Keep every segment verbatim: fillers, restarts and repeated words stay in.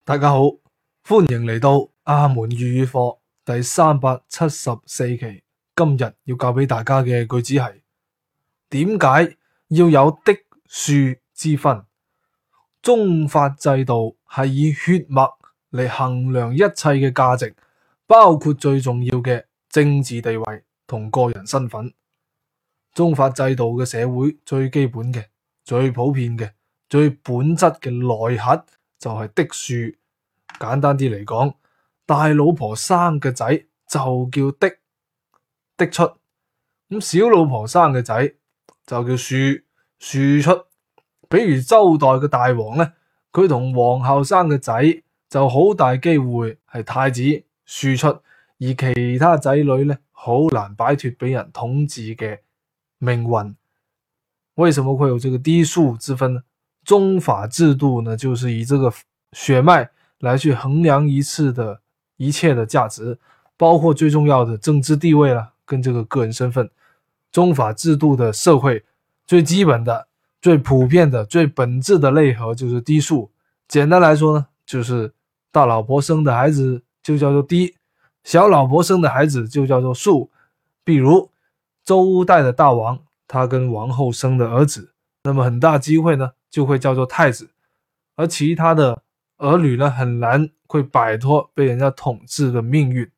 大家好，歡迎嚟到阿門粵語課第三百七十四期。今日要教俾大家嘅句子係：點解要有的庶之分？宗法制度係以血脈嚟衡量一切嘅價值，包括最重要嘅政治地位同個人身份。宗法制度嘅社會最基本嘅、最普遍嘅、最本質嘅內核就係的庶。簡單啲嚟講，大老婆生嘅仔就叫的的出，咁小老婆生嘅仔就叫庶庶出。比如周代嘅大王呢，佢同皇后生嘅仔就好大機會係太子庶出，而其他仔女呢，好難擺脫俾人統治嘅命運。為什麼會有這個嫡庶之分呢？宗法制度呢，就是以這個血脈來去衡量一次的一切的價值，包括最重要的政治地位啦，跟這個個人身份。宗法制度的社會最基本的、最普遍的、最本質的內核就是嫡庶。簡單來說呢，就是大老婆生的孩子就叫做嫡，小老婆生的孩子就叫做庶。比如周代的大王，他跟王后生的兒子，那麼很大機會呢就會叫做太子，而其他的兒女呢，很難會擺脫被人家統治的命運。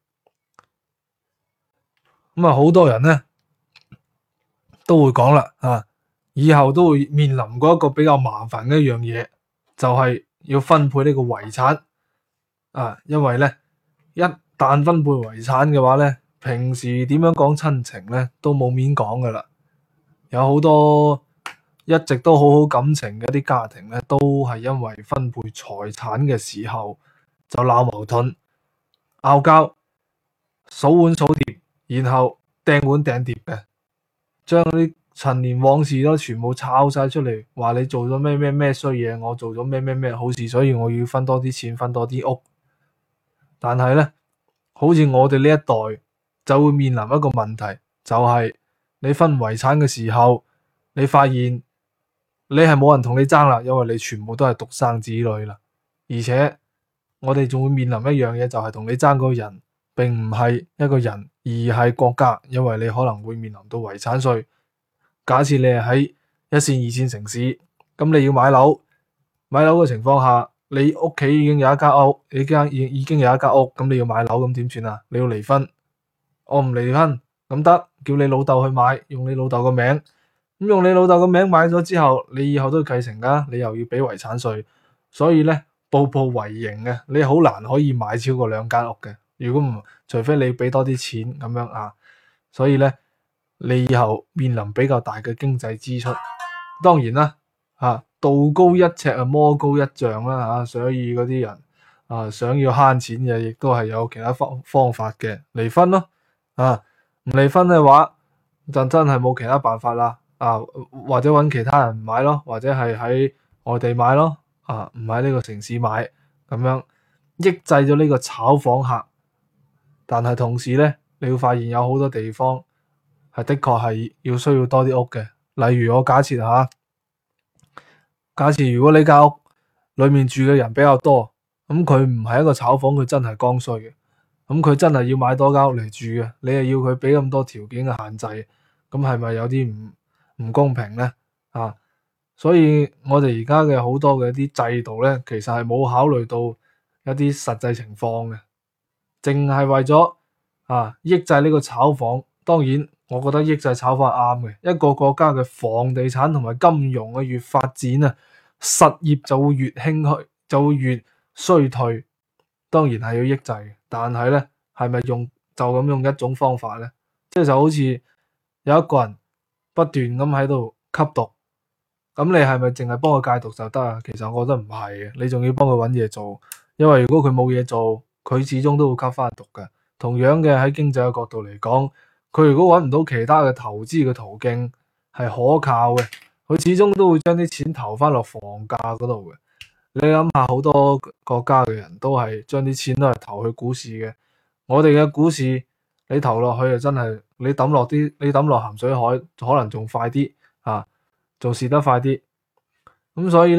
咁啊，好多人呢都會講啦，啊，以後都會面臨過一個比較麻煩嘅一樣嘢，就係要分配呢個遺產啊。因為呢，一旦分配遺產嘅話呢，平時點樣講親情呢都冇面講噶啦。有好多一直都好好感情嘅一啲家庭咧，都係因為分配財產嘅時候就鬧矛盾、拗交、數碗數碟，然後掟碗掟碟嘅，將啲陳年往事都全部抄晒出嚟，話你做咗咩咩咩衰嘢，我做咗咩咩咩好事，所以我要分多啲錢，分多啲屋。但係咧，好似我哋呢一代就會面臨一個問題，就係你分遺產嘅時候，你發現你係冇人同你爭啦，因為你全部都係獨生子女啦。而且我哋仲會面臨一樣嘢，就係同你爭嗰個人並唔係一個人，而係國家，因為你可能會面臨到遺產稅。假設你係喺一線二線城市，咁你要買樓，買樓嘅情況下，你屋企已經有一間屋，你間已已經有一間屋，咁你要買樓，咁點算啊？你要離婚，我唔離婚咁得，叫你老豆去買，用你老豆個名，咁用你老豆個名買咗之後，你以後都要繼承噶，你又要俾遺產稅，所以咧步步為營嘅，你好難可以買超過兩間屋嘅。如果唔，除非你俾多啲錢咁樣啊，所以咧你以後面臨比較大嘅經濟支出。當然啦，啊道高一尺啊，魔高一丈啦，吓、啊，所以嗰啲人啊想要慳錢嘅，亦都係有其他方方法嘅，離婚咯，啊唔離婚嘅話就真係冇其他辦法啦。啊，或者揾其他人買咯，或者係喺外地買咯，啊，唔喺呢個城市買，咁樣抑制咗呢個炒房客。但係同時咧，你會發現有好多地方係的確係要需要多啲屋嘅。例如我假設吓，假設如果你間屋裏面住嘅人比較多，咁佢唔係一個炒房，佢真係剛需嘅，咁佢真係要買多間屋嚟住嘅，你又要佢俾咁多條件嘅限制，咁係咪有啲唔唔公平呢？啊，所以我哋而家嘅好多嘅一啲制度呢，其實係冇考慮到一啲實際情況嘅，淨係為咗啊抑制呢個炒房。當然，我覺得抑制炒房係啱嘅。一個國家嘅房地產同埋金融嘅越發展啊，實業就會越興虛，就會越衰退。當然係要抑制嘅，但係呢，係咪用就咁用一種方法呢？即係就好似有一個人不斷咁喺度吸毒，咁你係咪淨係幫佢戒毒就得啊？其實我覺得唔係嘅，你仲要幫佢揾嘢做，因為如果佢冇嘢做，佢始終都會吸翻毒嘅。同樣嘅，喺經濟嘅角度嚟講，佢如果揾唔到其他嘅投資嘅途徑係可靠嘅，佢始終都會將啲錢投翻落房價嗰度嘅。你諗下，好多國家嘅人都係將啲錢都係投去股市嘅。我哋嘅股市，你投落去啊，真係你抌落啲，你抌落鹹水海，可能仲快啲啊，仲蝕得快啲。咁所以咧，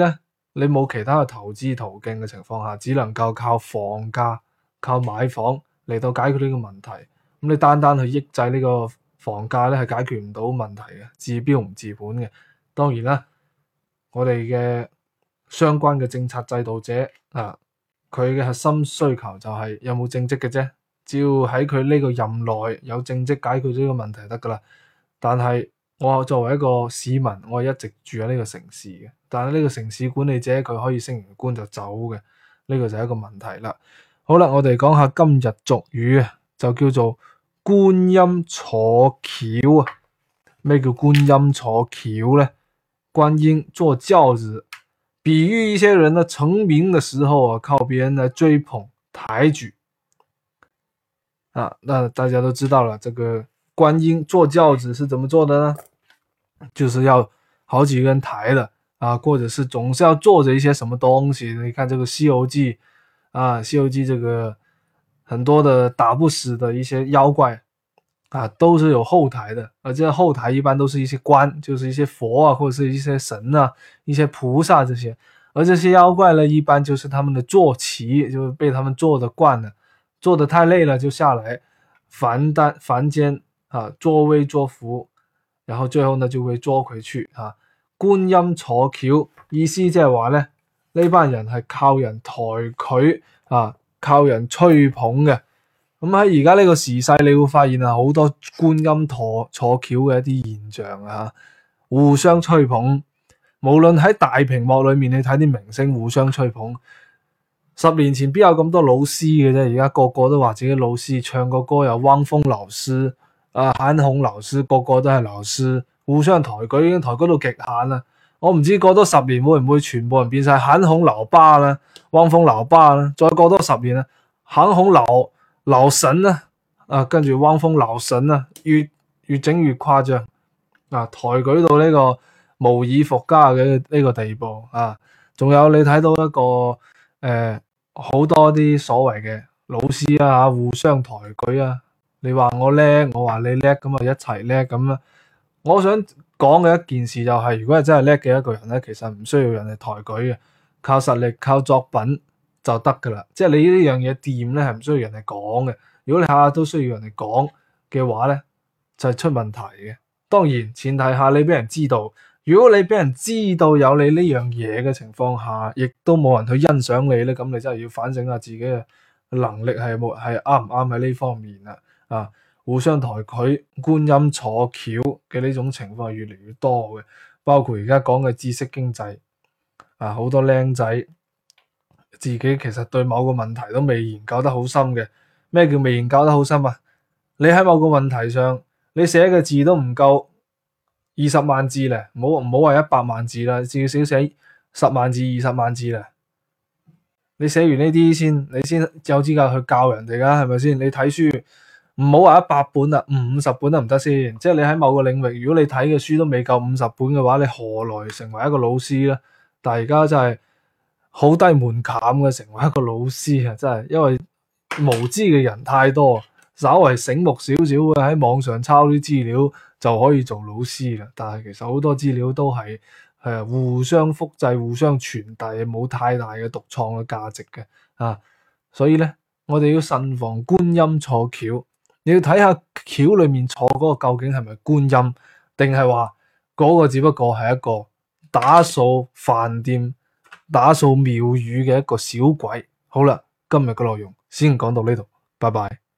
你冇其他嘅投資途徑嘅情況下，只能夠靠房價、靠買房嚟到解決呢個問題。咁你單單去抑制呢個房價咧，係解決唔到問題嘅，治標唔治本嘅。當然啦，我哋嘅相關嘅政策制度者啊，佢嘅核心需求就係有冇政績嘅啫。只要喺佢呢個任內有政績解決咗呢個問題得噶啦。但係我作為一個市民，我係一直住喺呢個城市嘅，但係呢個城市管理者佢可以升完官就走嘅，呢個就係一個問題啦。好啦，我哋講下今日俗語啊，就叫做觀音坐轎啊。咩叫觀音坐轎咧？觀音坐轎子，比喻一些人呢成名嘅時候啊，靠別人來追捧抬舉啊。那大家都知道了，這個觀音坐轎子是怎麼做的呢？就是要好幾個人抬的啊，或者是總是要坐着一些什麼東西。你看這個《西遊記》啊，《西遊記》這個很多的打不死的一些妖怪啊，都是有後台的，而這後台一般都是一些官，就是一些佛啊，或者是一些神啊，一些菩薩這些。而這些妖怪呢，一般就是他們的坐騎，就是被他們坐得慣了，坐得太累了就下來凡單凡間啊，作威作福。然後最後呢就會捉佢去啊。觀音坐轎意思即係話咧，呢班人係靠人抬佢啊，靠人吹捧嘅。咁喺而家呢個時勢，你會發現啊，好多觀音坐坐轎嘅一啲現象啊，互相吹捧。無論喺大屏幕裏面，你睇啲明星互相吹捧。十年前邊有咁多老師嘅啫？而家個個都話自己老師，唱個歌有汪峰老師。啊，韓紅老師，個個都係老師，互相抬舉，已經抬舉到極限啦。我唔知過多十年會唔會全部人變晒韓紅老爸啦，汪峰老爸啦，再過多十年啊，韓紅老老神啦，啊，跟住汪峰老神啦，越越整越誇張啊，抬舉到呢個無以復加嘅呢個地步啊。仲有你睇到一個誒好、呃、多啲所謂嘅老師啊，互相抬舉啊。你話我叻，我話你叻，咁啊一齊叻咁啊！我想講嘅一件事就係、是，如果係真係叻嘅一個人咧，其實唔需要人哋抬舉嘅，靠實力、靠作品就得噶啦。即係你呢樣嘢掂咧，係唔需要人哋講嘅。如果你下下都需要人哋講嘅話咧，就係、是、出問題嘅。當然前提下你俾人知道，如果你俾人知道有你呢樣嘢嘅情況下，亦都冇人去欣賞你咧，咁你真係要反省下自己嘅能力係冇係啱唔啱喺呢方面啦。啊，互相抬舉、觀音坐轎嘅呢種情況係越嚟越多嘅，包括而家講嘅知識經濟啊，好多僆仔自己其實對某個問題都未研究得好深嘅。咩叫未研究得好深啊？你喺某個問題上，你寫嘅字都唔夠二十萬字咧，唔好唔好話一百萬字啦，至少寫十萬字、二十萬字咧。你寫完呢啲先，你先有資格去教人哋噶，係咪先？你睇書。唔好話一百本啦，五十本得唔得先？即係你喺某個領域，如果你睇嘅書都未夠五十本嘅話，你何來成為一個老師咧？但係而家真係好低門檻嘅，成為一個老師啊！真係，因為無知嘅人太多，稍為醒目少少嘅喺網上抄啲資料就可以做老師啦。但係其實好多資料都係誒互相複製、互相傳遞，冇太大嘅獨創嘅價值嘅啊。所以咧，我哋要慎防觀音坐轎。你要睇下轎裏面坐嗰個究竟係咪觀音，定係話嗰個只不過係一個打掃飯店、打掃廟宇嘅一個小鬼。好啦，今日嘅內容先講到呢度，拜拜。